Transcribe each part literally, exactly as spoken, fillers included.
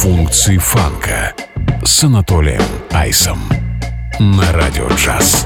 Функции фанка с Анатолием Айсом на Радио Джаз.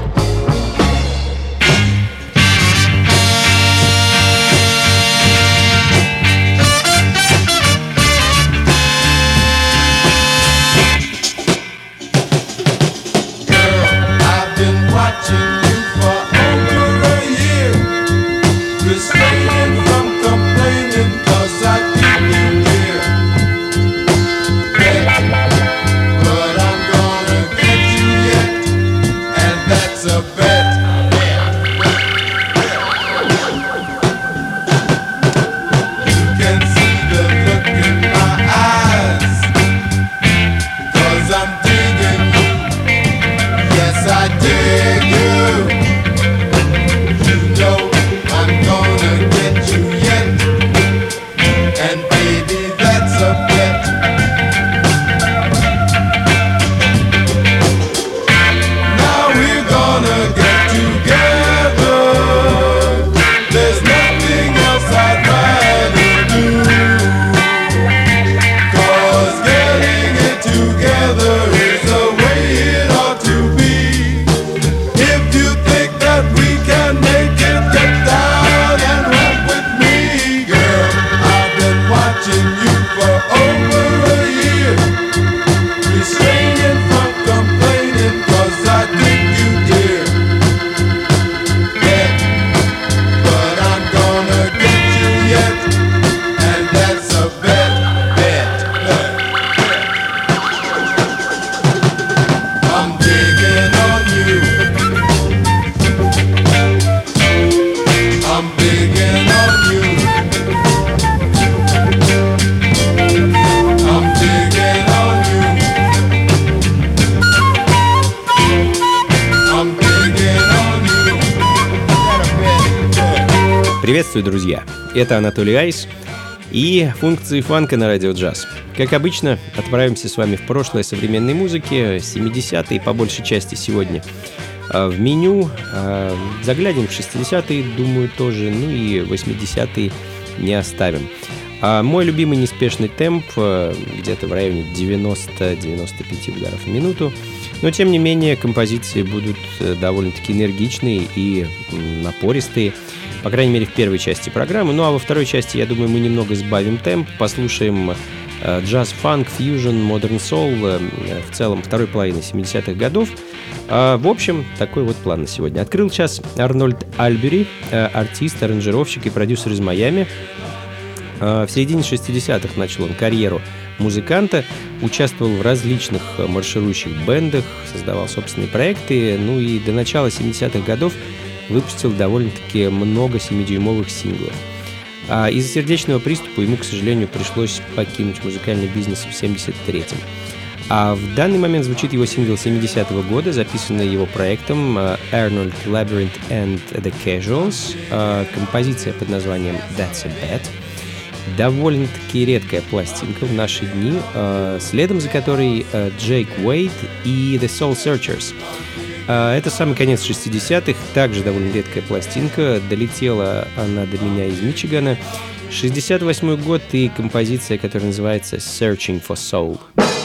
Приветствую, друзья! Это Анатолий Айс и функции фанка на Радио Джаз. Как обычно, отправимся с вами в прошлое современной музыки, семидесятые по большей части сегодня. В меню заглянем в шестидесятые, думаю, тоже, ну и восьмидесятые не оставим. А мой любимый неспешный темп где-то в районе девяносто-девяносто пять ударов в минуту. Но, тем не менее, композиции будут довольно-таки энергичные и напористые. По крайней мере, в первой части программы. Ну а во второй части, я думаю, мы немного сбавим темп, послушаем э, джаз, фанк, фьюжн, модерн соул, э, в целом второй половины семидесятых годов. Э, в общем, такой вот план на сегодня. Открыл час Арнольд Альбери, э, артист, аранжировщик и продюсер из Майами. Э, в середине шестидесятых начал он карьеру музыканта, участвовал в различных марширующих бендах, создавал собственные проекты, ну и до начала семидесятых годов выпустил довольно-таки много семидюймовых синглов. А из-за сердечного приступа ему, к сожалению, пришлось покинуть музыкальный бизнес в семьдесят третьем. А в данный момент звучит его сингл семидесятого года, записанный его проектом Arnold Labyrinth and the Casuals. Композиция под названием That's a Bet. Довольно-таки редкая пластинка в наши дни, следом за которой Джейк Уэйд и The Soul Searchers. Это самый конец шестидесятых, также довольно редкая пластинка, долетела она до меня из Мичигана. шестьдесят восьмой год и композиция, которая называется Searching for Soul.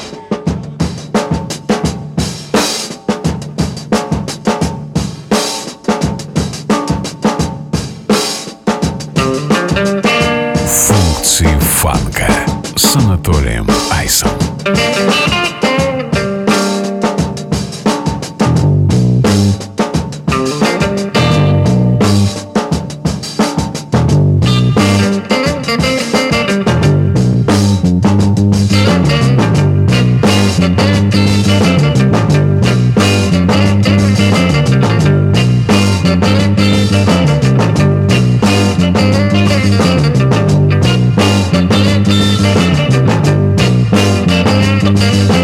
Функции фанка с Анатолием Айсом. We'll be right back.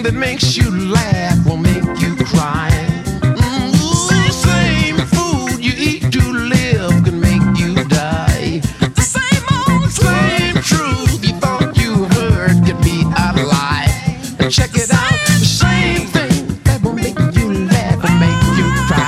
that makes you laugh will make you cry. Mm, the same food you eat to live can make you die. The same old same truth you thought you heard could be a lie. Check it out, the same thing that will make you laugh and make you cry.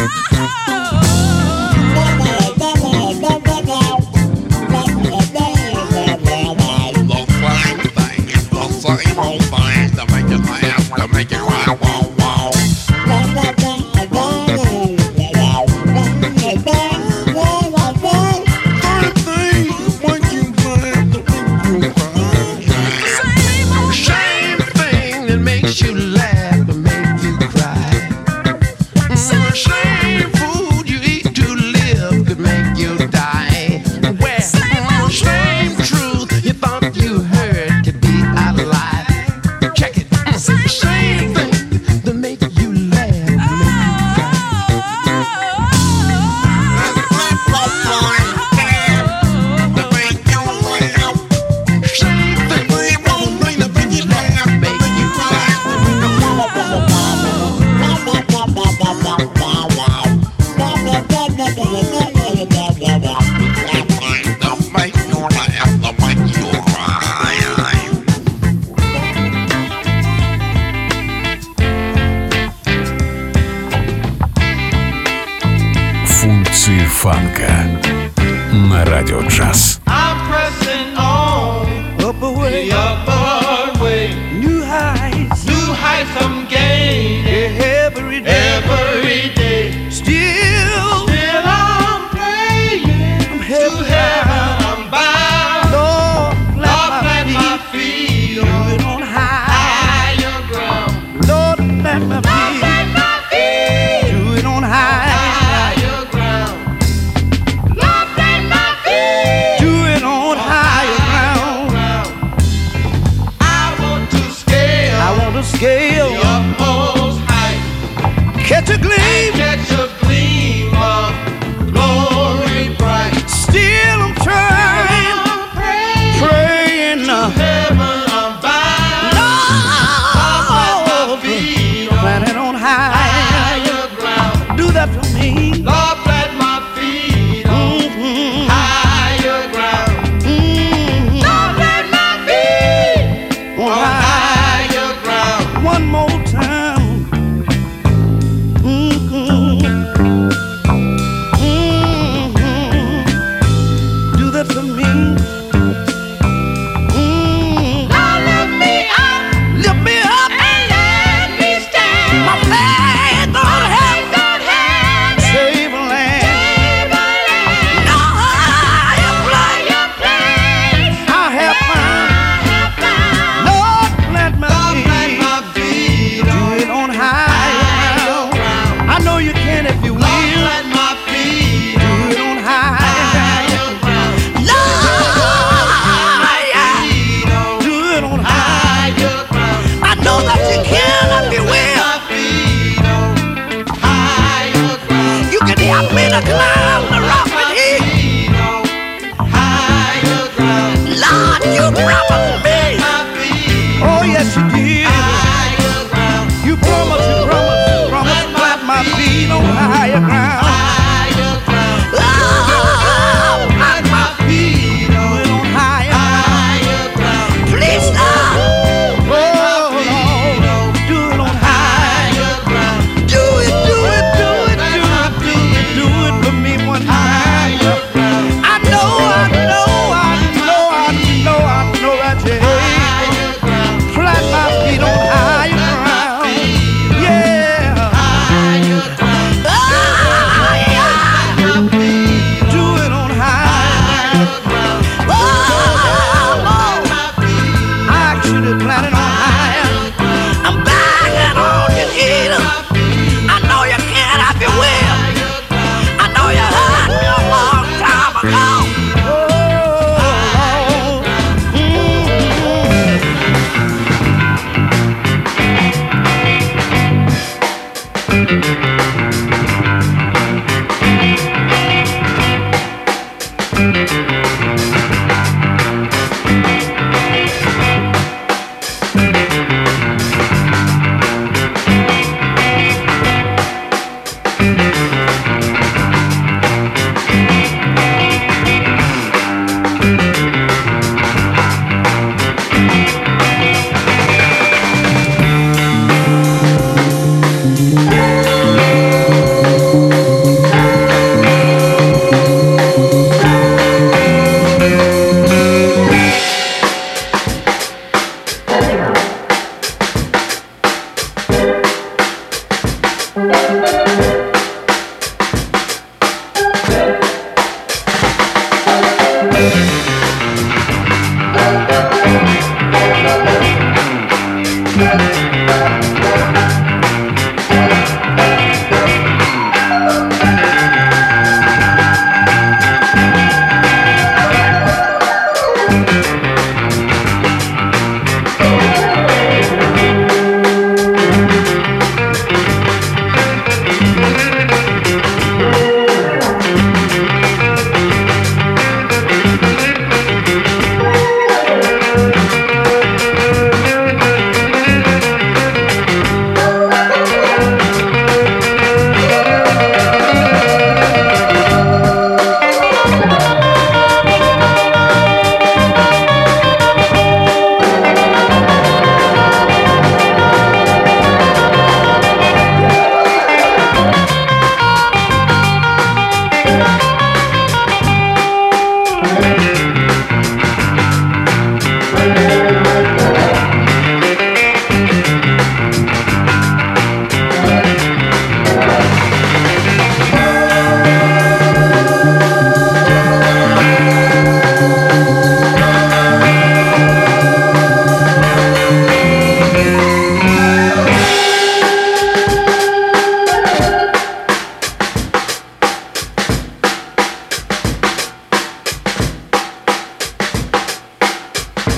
Функции фанка на радио джаз. Catch a gleam, catch a gleam of glory bright. Still I'm trying, I'm praying, praying to heaven I'm bound. Lord, planted on high, higher ground. Do that for me, Lord, plant my feet on mm-hmm. higher ground. Mm-hmm. Lord, plant my feet on higher ground. One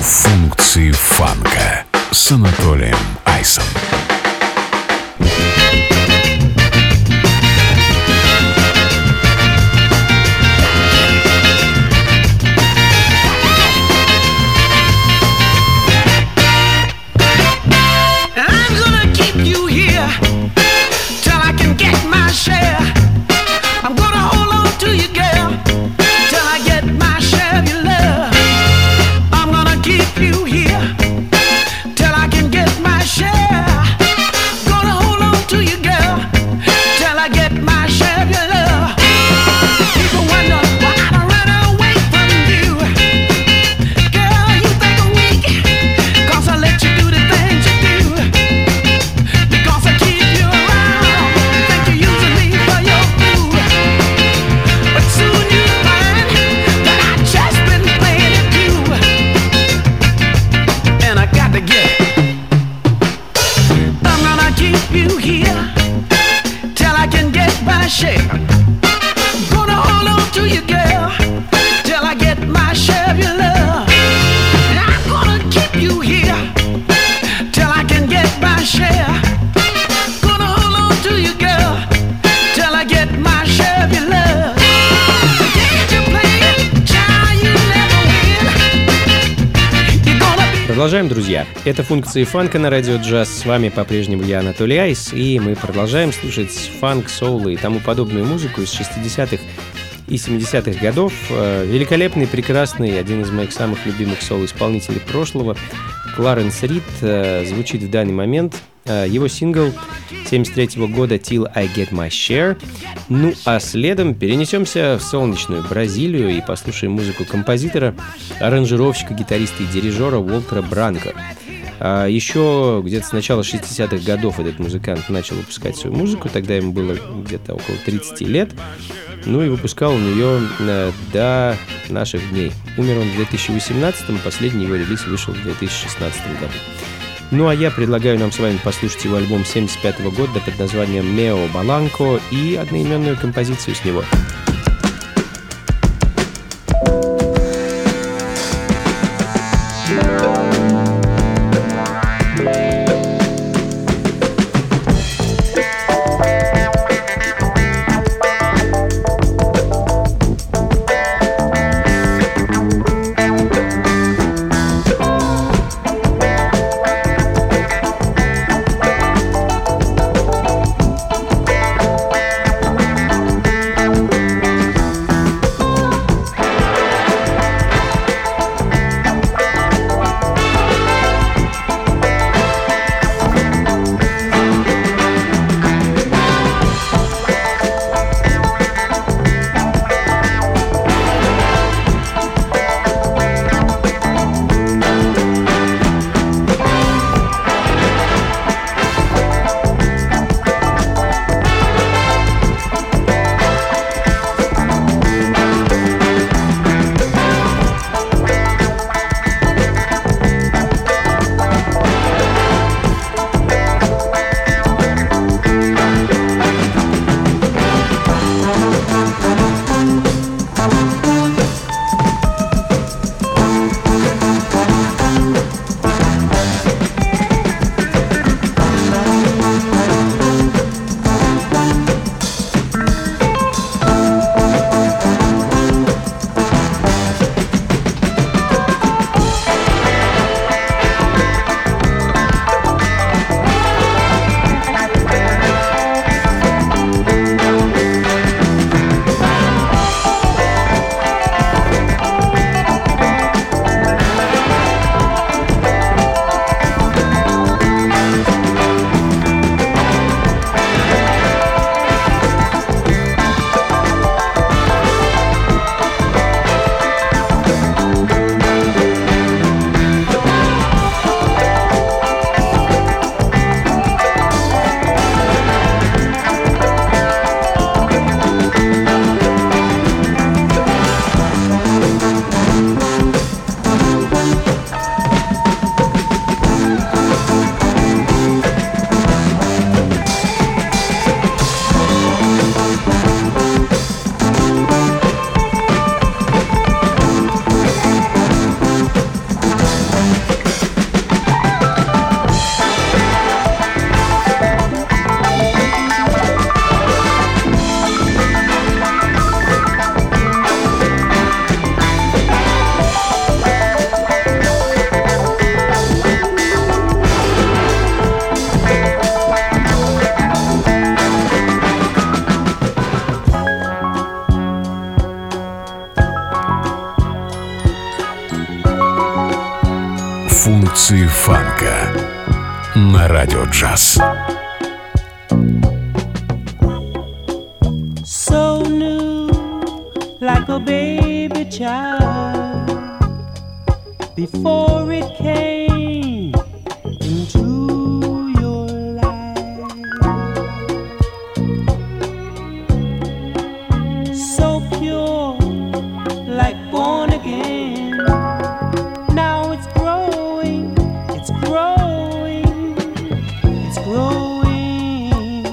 Функции фанка с Анатолием Айсом. Продолжаем, друзья. Это функции фанка на радио джаз. С вами по-прежнему я, Анатолий Айс, и мы продолжаем слушать фанк, соул и тому подобную музыку из шестидесятых и семидесятых годов. Великолепный, прекрасный, один из моих самых любимых соул-исполнителей прошлого, Кларенс Рид, звучит в данный момент. Его сингл семьдесят третьего года «Till I Get My Share». Ну а следом перенесемся в солнечную Бразилию и послушаем музыку композитора, аранжировщика, гитариста и дирижера Уолтера Бранко. А еще где-то с начала шестидесятых годов этот музыкант начал выпускать свою музыку, тогда ему было где-то около тридцати лет, ну и выпускал он ее до наших дней. Умер он в две тысячи восемнадцатом, последний его релиз вышел в две тысячи шестнадцатом году. Ну а я предлагаю нам с вами послушать его альбом семьдесят пятого года под названием «Мео Баланко» и одноименную композицию с него. Thank Функции фанка на радио джаз. So new, like a baby child, before it came into your life. So pure, like born again. Now it's growing, it's growing, it's growing,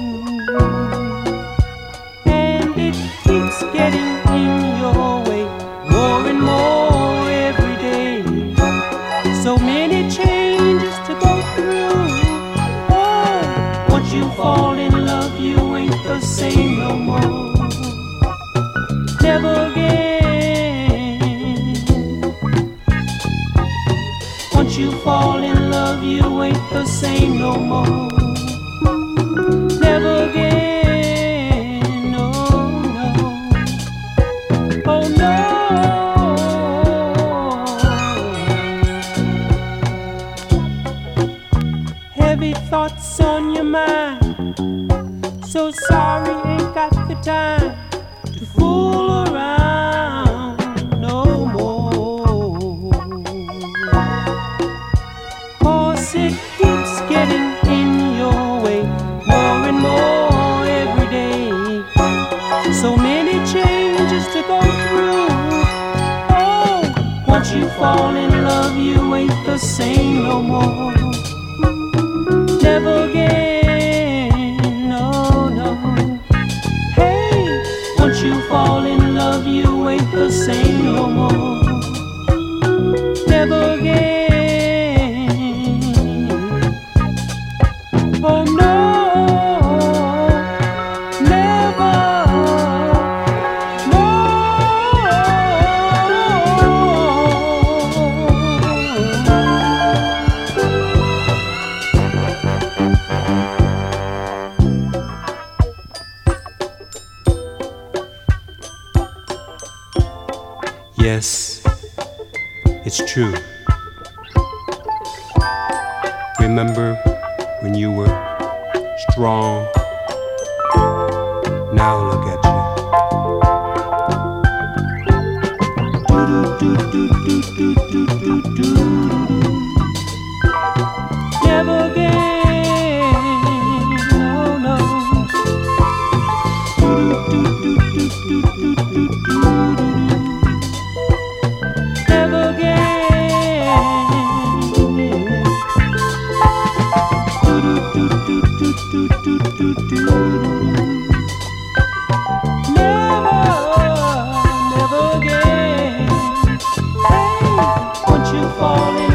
and it keeps getting in your way more and more every day. So many changes to go through. Oh, once you fall in love, you ain't the same no more. Never again. Once you fall in love, you ain't the same no more. Never again. No, no. Oh no. Heavy thoughts on your mind. So sorry, ain't got the time to fool around no more. 'Cause it keeps getting in your way more and more every day. So many changes to go through. Oh, once you fall in love, you ain't the same no more. Never again, no, no. Hey, once you fall in love, you ain't the same no more. Never again. Oh no, never, no. Yes, it's true. Remember when you were strong? Now look at you. Never again, no, no. Never again. Never, never again. Hey, once you fall in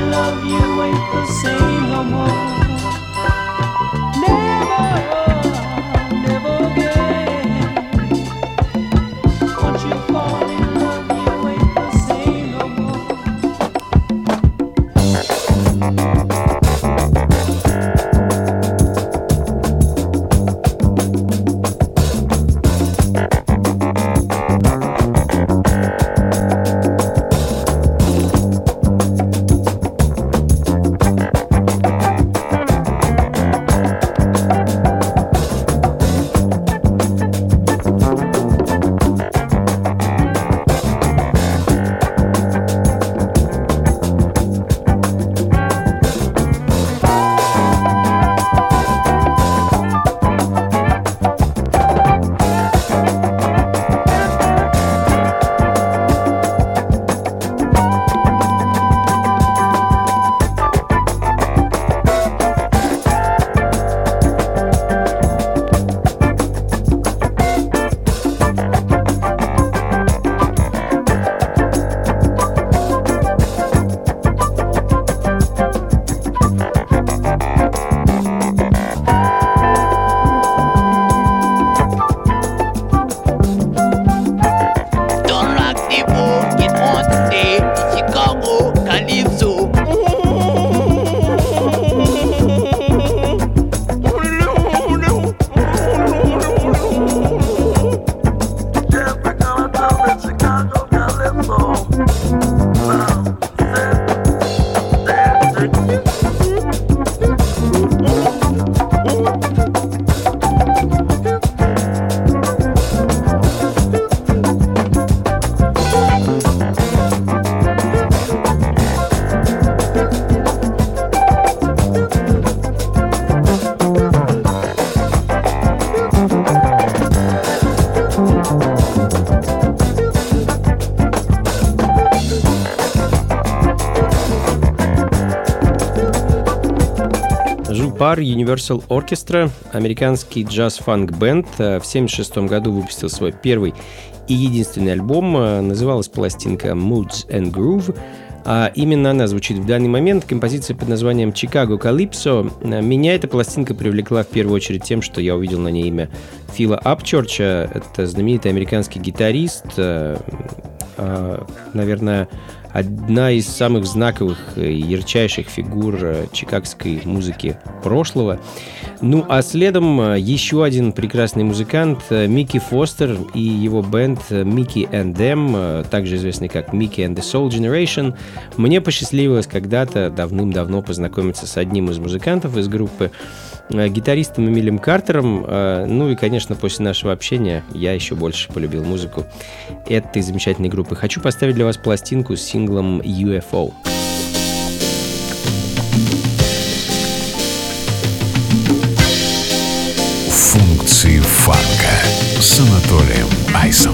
Жупар Universal Orchestra, американский джаз-фанк-бенд, в семьдесят шестом году выпустил свой первый и единственный альбом. Называлась пластинка Moods and Groove. А именно она звучит в данный момент. Композиция под названием «Chicago Calypso». Меня эта пластинка привлекла в первую очередь тем, что я увидел на ней имя Фила Апчорча. Это знаменитый американский гитарист, наверное, одна из самых знаковых и ярчайших фигур чикагской музыки прошлого. Ну а следом еще один прекрасный музыкант Микки Фостер и его бенд Mickey and Them, также известный как Mickey and the Soul Generation. Мне посчастливилось когда-то давным-давно познакомиться с одним из музыкантов из группы, гитаристом Эмилем Картером. Ну и, конечно, после нашего общения я еще больше полюбил музыку этой замечательной группы. Хочу поставить для вас пластинку с синглом ю эф о. Функции фанка с Анатолием Айсом.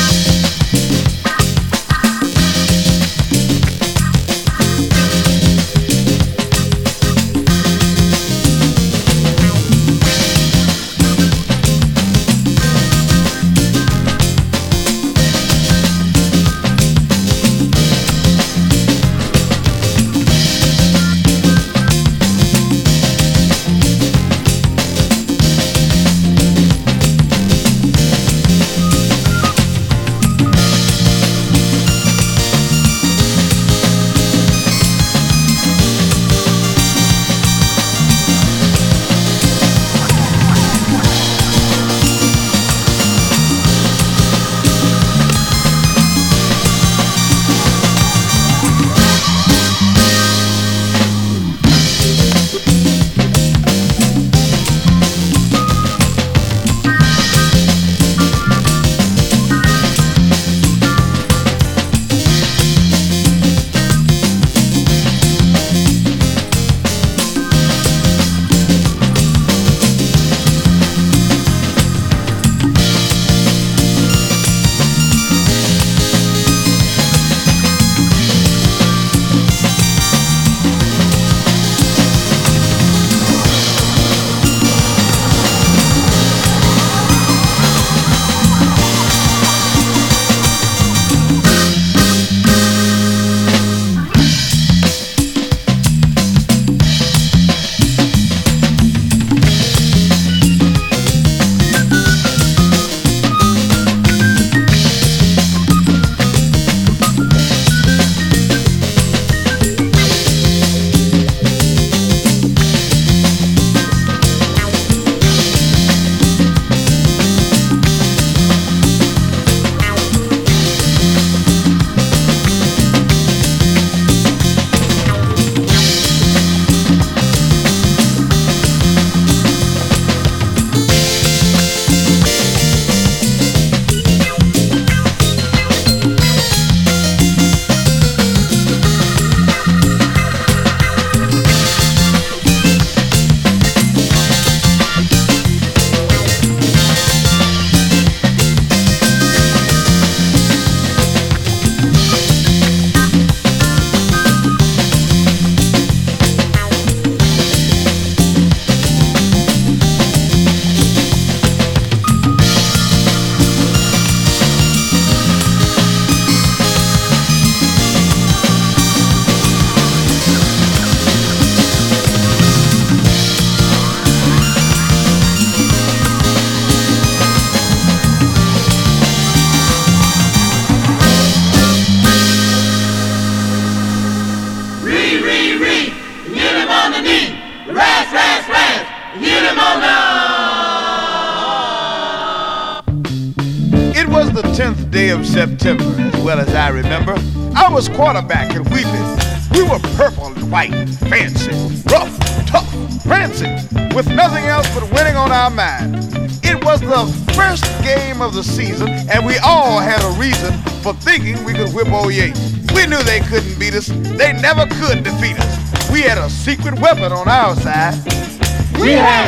the tenth day of September, as well as I remember. I was quarterback and we we were purple and white, fancy, rough, tough, fancy, with nothing else but winning on our mind. It was the first game of the season, and we all had a reason for thinking we could whip old Yates. We knew they couldn't beat us. They never could defeat us. We had a secret weapon on our side. We had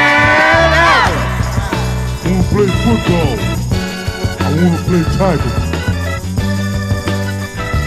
Van Allen. I want to play football. I want to play Tiger.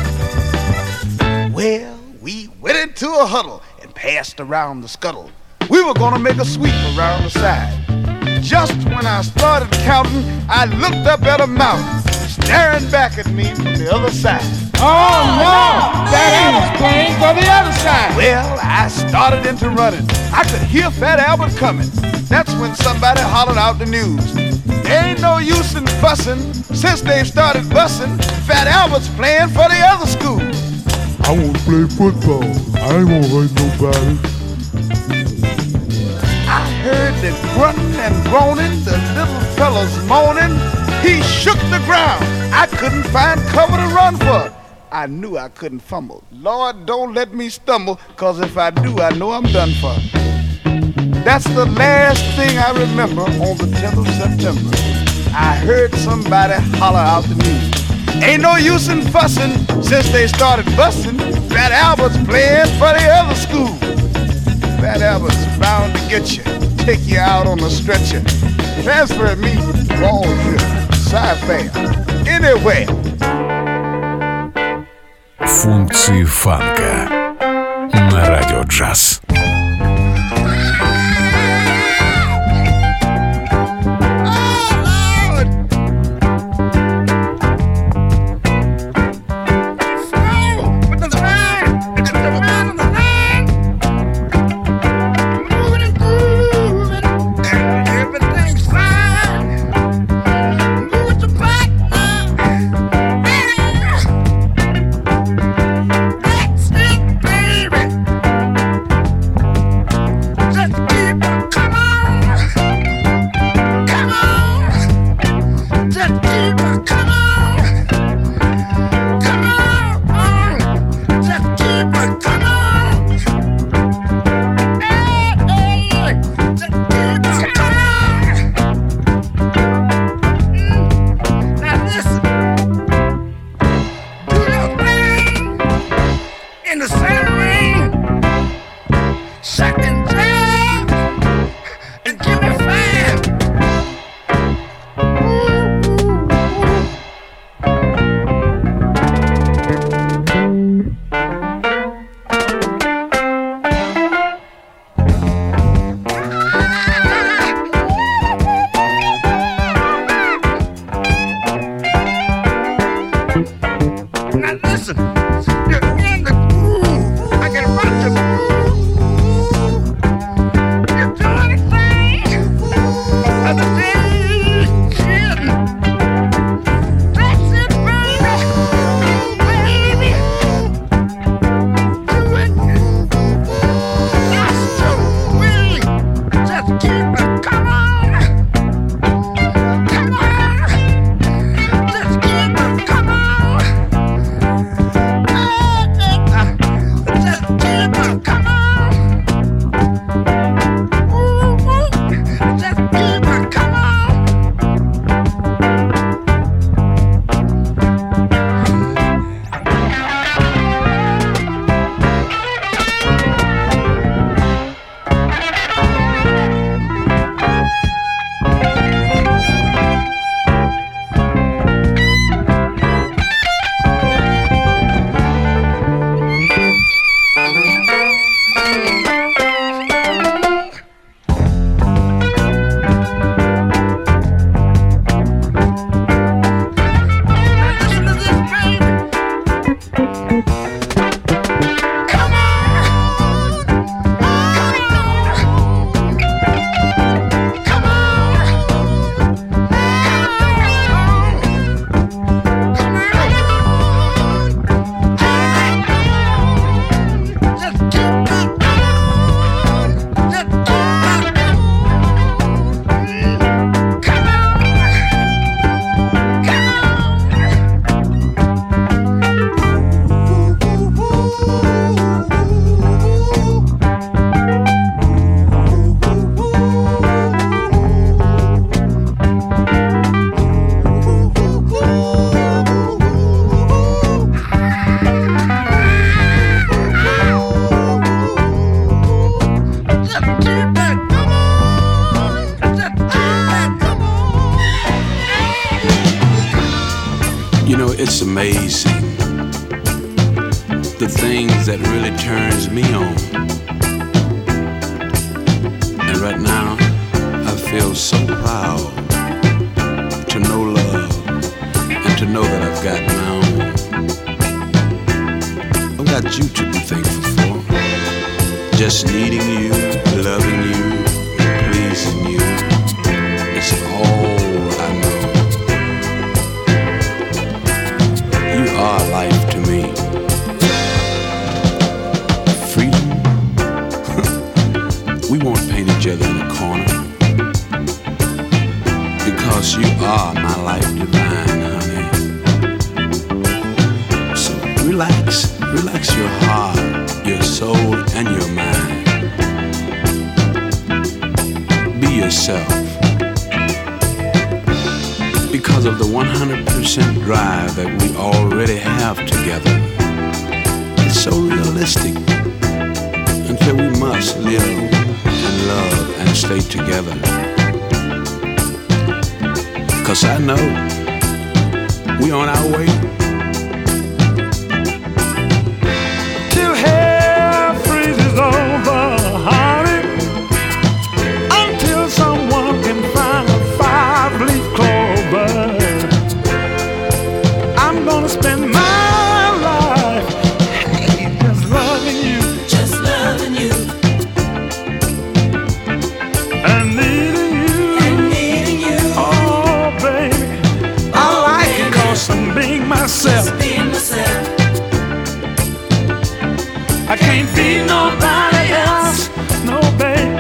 Well, we went into a huddle and passed around the scuttle. We we were gonna make a sweep around the side. Just when I started counting, I looked up at a mountain staring back at me from the other side. Oh no! Fat Albert's playing for the other side. Well, I started into running. I could hear Fat Albert coming. That's when somebody hollered out the news. There ain't no use in fussing. Since they started bussing, Fat Albert's playing for the other school. I want to play football. I ain't gonna hurt nobody. I heard the grunting and groaning, the little fellas moaning. He shook the ground. I couldn't find cover to run for. I knew I couldn't fumble. Lord, don't let me stumble, cause if I do, I know I'm done for. That's the last thing I remember on the tenth of September. I heard somebody holler out the news. Ain't no use in fussing, since they started busting. Fat Albert's playing for the other school. Fat Albert's bound to get you, take you out on a stretcher, transfer me wrong trip, sci-fi, anywhere. Функции фанка на радио джаз. It's amazing the things that really turns me on. so proud to know love and to know that I've got my own. I've got you to be thankful for. Just needing you, loving you, pleasing you. It's all I know. You are life to me. Freedom. We won't paint each other in a corner. Because you are my life divine, honey. So relax, relax your heart, your soul, and your mind. Be yourself. Because of the one hundred percent drive that we already have together. It's so realistic. Until we must live and love and stay together. 'Cause I know we on our way. Till hell freezes over, honey. Until someone can find a five-leaf clover. I'm gonna spend my life, hey, just loving you. Just loving you. And needing you. And needing you. Oh, baby. Oh, I like baby. it 'cause I'm being myself. Just being myself. I can't be nobody else. No, baby.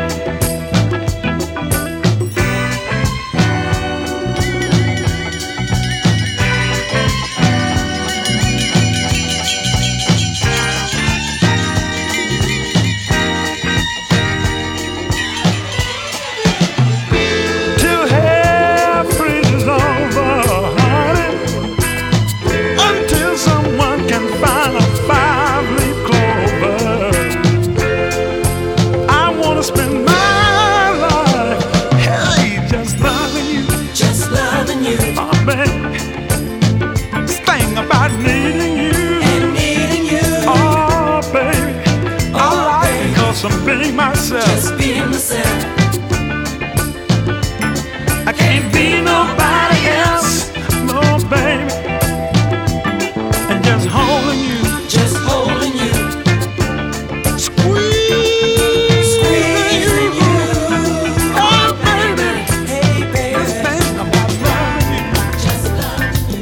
Till hell freezes over, honey. Until someone can find a five-leaf clover. I wanna spend my life, hey, just loving you. Just loving you. Oh, baby. This thing about needing you. And needing you. Oh, baby. I Oh, like it baby. 'cause I'm being myself. Just being myself. I can't be nobody else. No, baby. And just holding you. Just holding you. Squeeze. Squeezing you. Oh, baby. Hey, baby. This thing about loving you. Just loving you.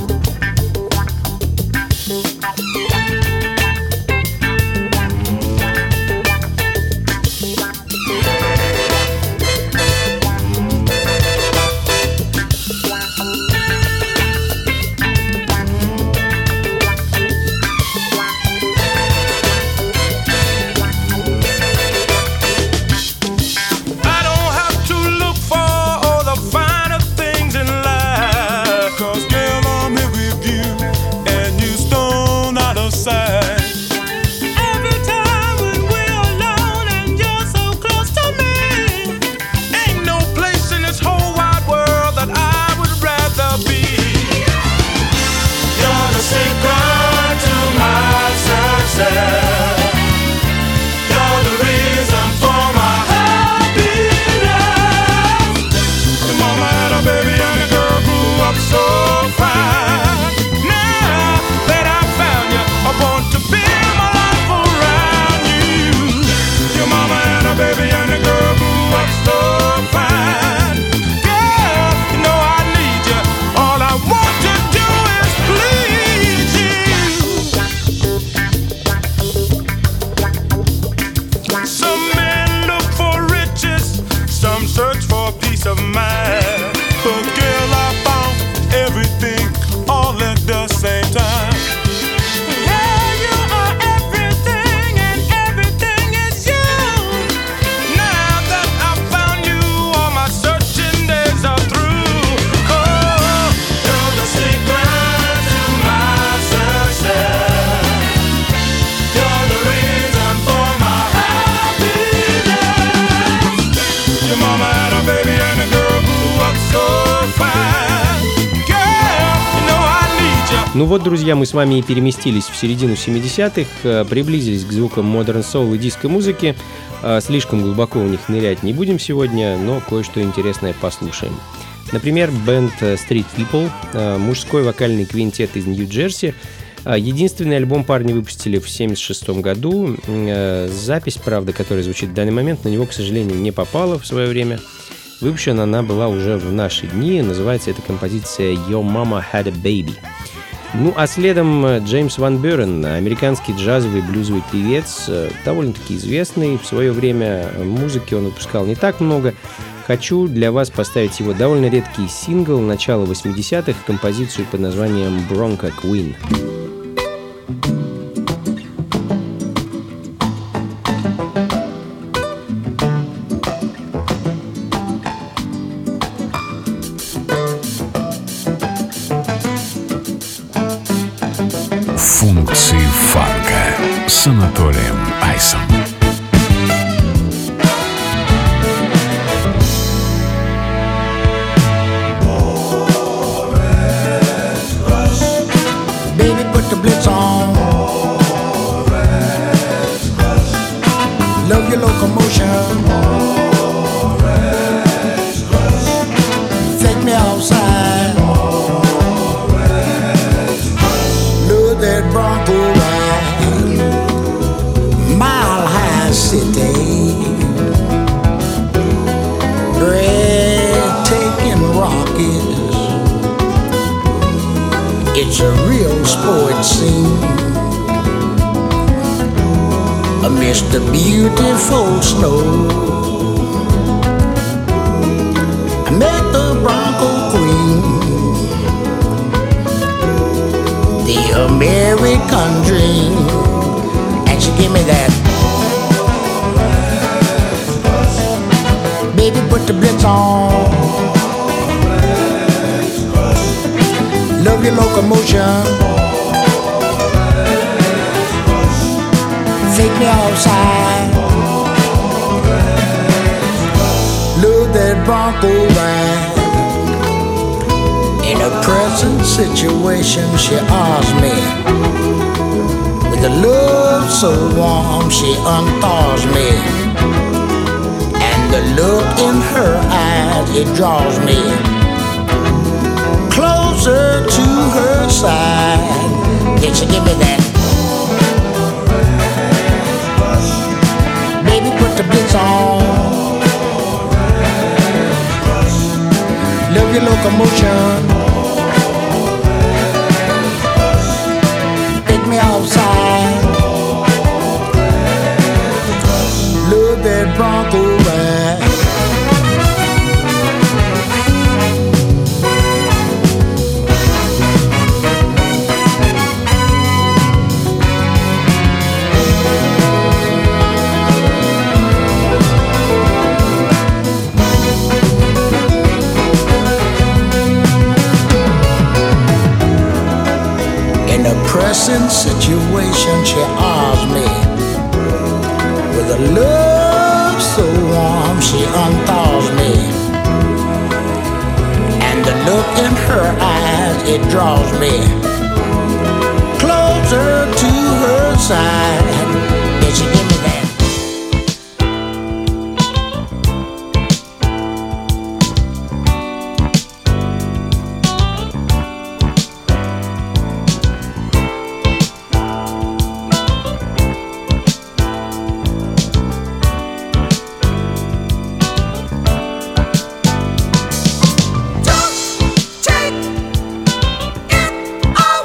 I don't have to look for all the finer things in life. 'Cause girl, I'm here with you, and you stone out of sight. Every time when we're alone and you're so close to me, ain't no place in this whole wide world that I would rather be. You're the secret to my success. You're the reason for my happiness. Your mama had a baby and the girl grew up so fine. Now that I found you, I want to build my life around you. Your mama had a baby and the girl grew up so fine. Girl, you know I need you. All I want to do is please you. Some men look for riches, some search for peace of mind. But girl, I found everything all at the same time. Yeah, you are everything and everything is you. Now that I found you, all my searching days are through. Oh, you're the secret to my success. You're the reason for my happiness. Your mama had a baby and the girl grew up so fine. Girl, you know I need you. Ну вот, друзья, мы с вами и переместились в середину семидесятых, э, приблизились к звукам модерн соул и диско-музыки. Слишком глубоко в них нырять не будем сегодня, но кое-что интересное послушаем. Например, бэнд Street People, мужской вокальный квинтет из Нью-Джерси. Единственный альбом парни выпустили в семьдесят шестом году. Запись, правда, которая звучит в данный момент, на него, к сожалению, не попала в свое время. Выпущена она была уже в наши дни. Называется эта композиция «Your Mama Had a Baby». Ну, а следом Джеймс Ван Бюрен, американский джазовый блюзовый певец, довольно-таки известный. В свое время музыки он выпускал не так много. Хочу для вас поставить его довольно редкий сингл начала восьмидесятых, композицию под названием «Bronco Queen». Функции фанка с Анатолием Айсом. Baby, put the blitz on. Love your locomotion. Take me outside. Look that Bronco ride. Mile High City. Breathtaking rockets. It's a real sport scene amidst the beautiful snow. I met the Bronco Queen, the American dream, and she gave me that. Baby, put the blitz on. Love your locomotion. Take me outside. Love that Bronco ride. In a present situation, she asked me. With a love so warm, she unthaws me. And the look in her eyes, it draws me closer to her side. Did she give me that? Baby, put the blitz on. Love your locomotion. Take me outside. Love that Bronco ride. Pressing situation, she asked me. With a love so warm, she unthaws me. And the look in her eyes, it draws me closer to her side. Did she give me that? All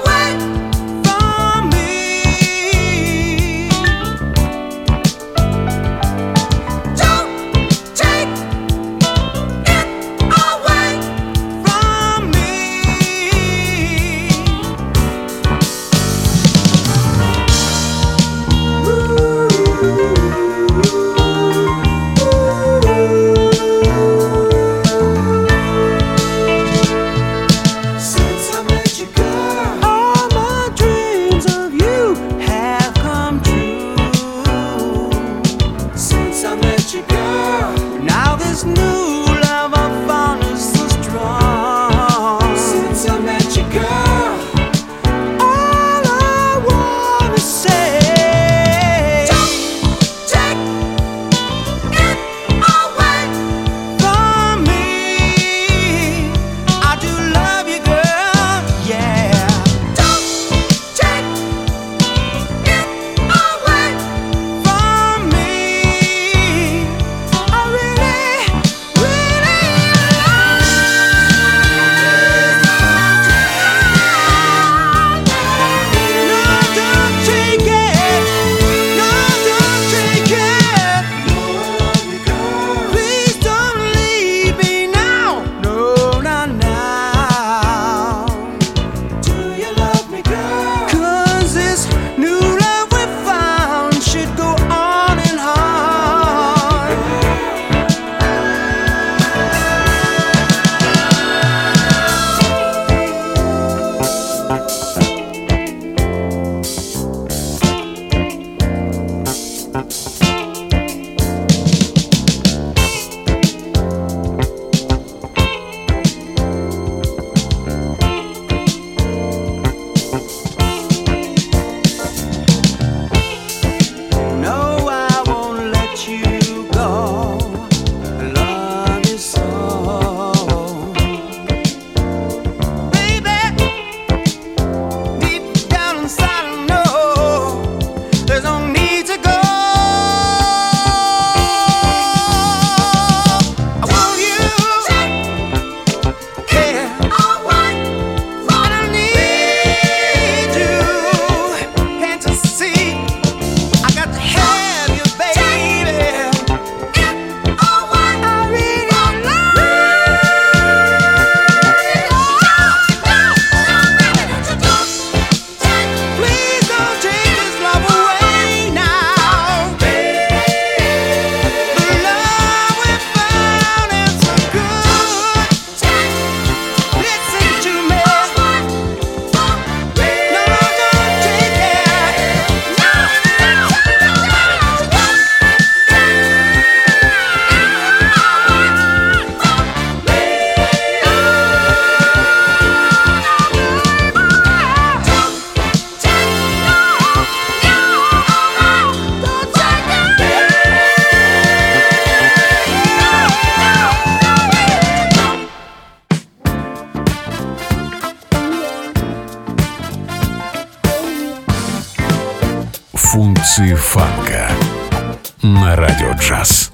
фанка на Радио Джаз.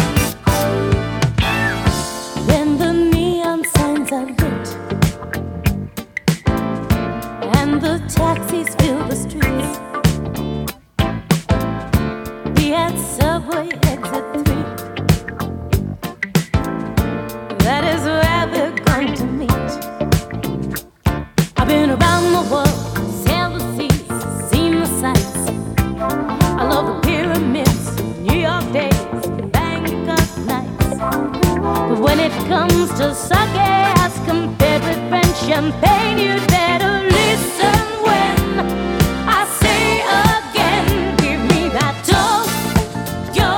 When the neon signs are lit and the taxis fill the streets, be at Subway exit three. That is where we're going to meet. I've been around the world, sailed the seas, seen the sights. I love the pyramids, New York days, Bangkok nights. But when it comes to sake as compared with French champagne, you'd better listen when I say again, give me that Tokyo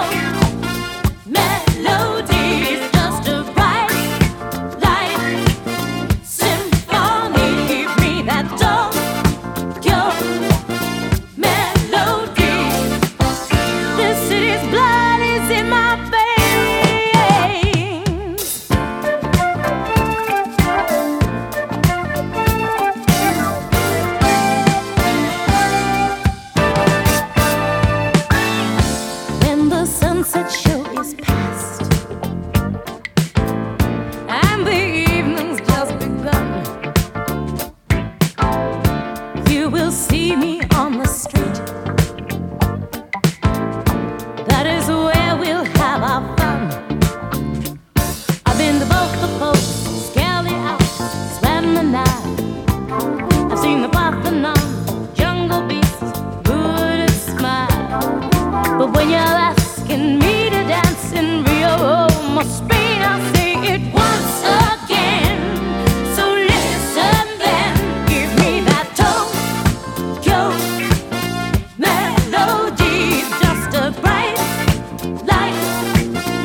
melody. It's just a bright light symphony. Give me that Tokyo melody. This city's blood is in my veins. When the sunset show is past and the evening's just begun, you will see me on the street. That is where we'll have our fun. I've been to both the posts, scaled the Alps, swam the Nile. I've seen the Parthenon, jungle beasts, Buddha smile. But when you're asking me to dance in Rio, Rome, or Spain, I'll say it once again. So listen then, give me that Tokyo melody. Just a bright light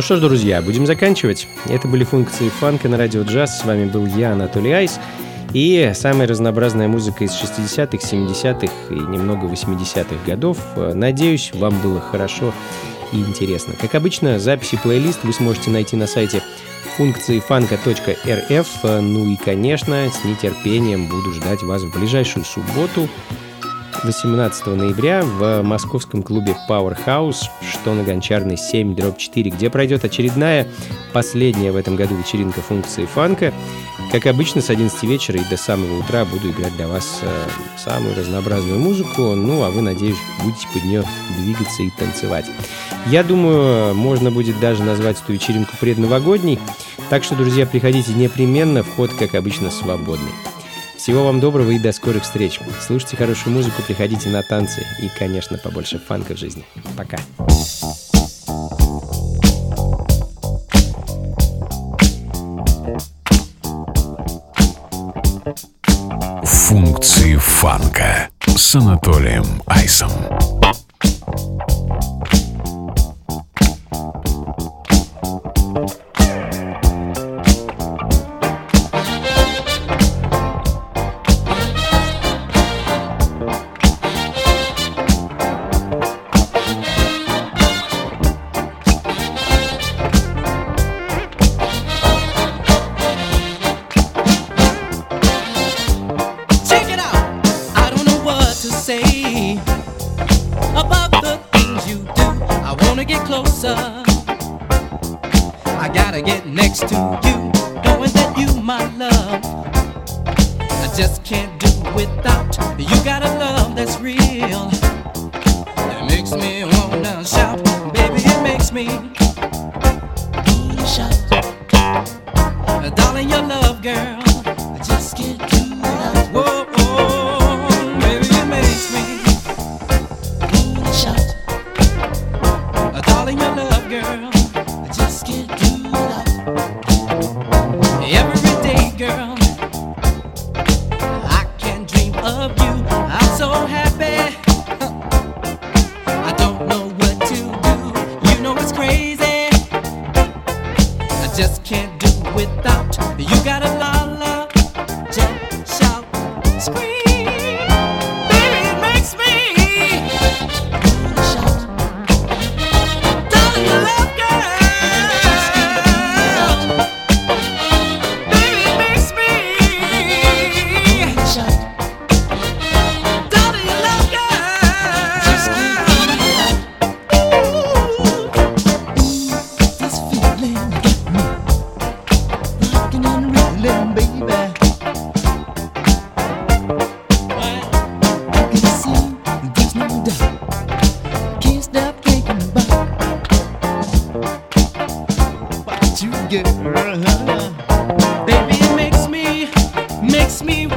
что ж, друзья, будем заканчивать. Это были функции фанка на радио джаз. С вами был я, Анатолий Айс. И самая разнообразная музыка из шестидесятых, семидесятых и немного восьмидесятых годов. Надеюсь, вам было хорошо и интересно. Как обычно, записи плейлист вы сможете найти на сайте функции фанка точка эр эф. Ну и, конечно, с нетерпением буду ждать вас в ближайшую субботу, восемнадцатого ноября, в московском клубе Powerhouse, что на Гончарной семь дробь четыре, где пройдет очередная, последняя в этом году вечеринка функции фанка. Как обычно, с одиннадцати вечера и до самого утра буду играть для вас э, самую разнообразную музыку, ну а вы, надеюсь, будете под нее двигаться и танцевать. Я думаю, можно будет даже назвать эту вечеринку предновогодней, так что, друзья, приходите непременно, вход, как обычно, свободный. Всего вам доброго и до скорых встреч. Слушайте хорошую музыку, приходите на танцы и, конечно, побольше фанка в жизни. Пока. Функции фанка с Анатолием Айсом. I gotta get next to you, knowing that you my love. I just can't do without you. Got a love that's real. It makes me wanna shout, baby. It makes me wanna shout. Darling, your love, girl, I just can't do without. Whoa, oh, baby, it makes me wanna shout. Darling, your love, girl, I just can't do without. Every day, girl, I can dream of you. I'm so happy. I don't know what to do. You know it's crazy. I just can't do without. You got a la la, jump, shout, scream. Baby, it makes me wanna shout. Darling, your love, girl, baby, it makes me, makes me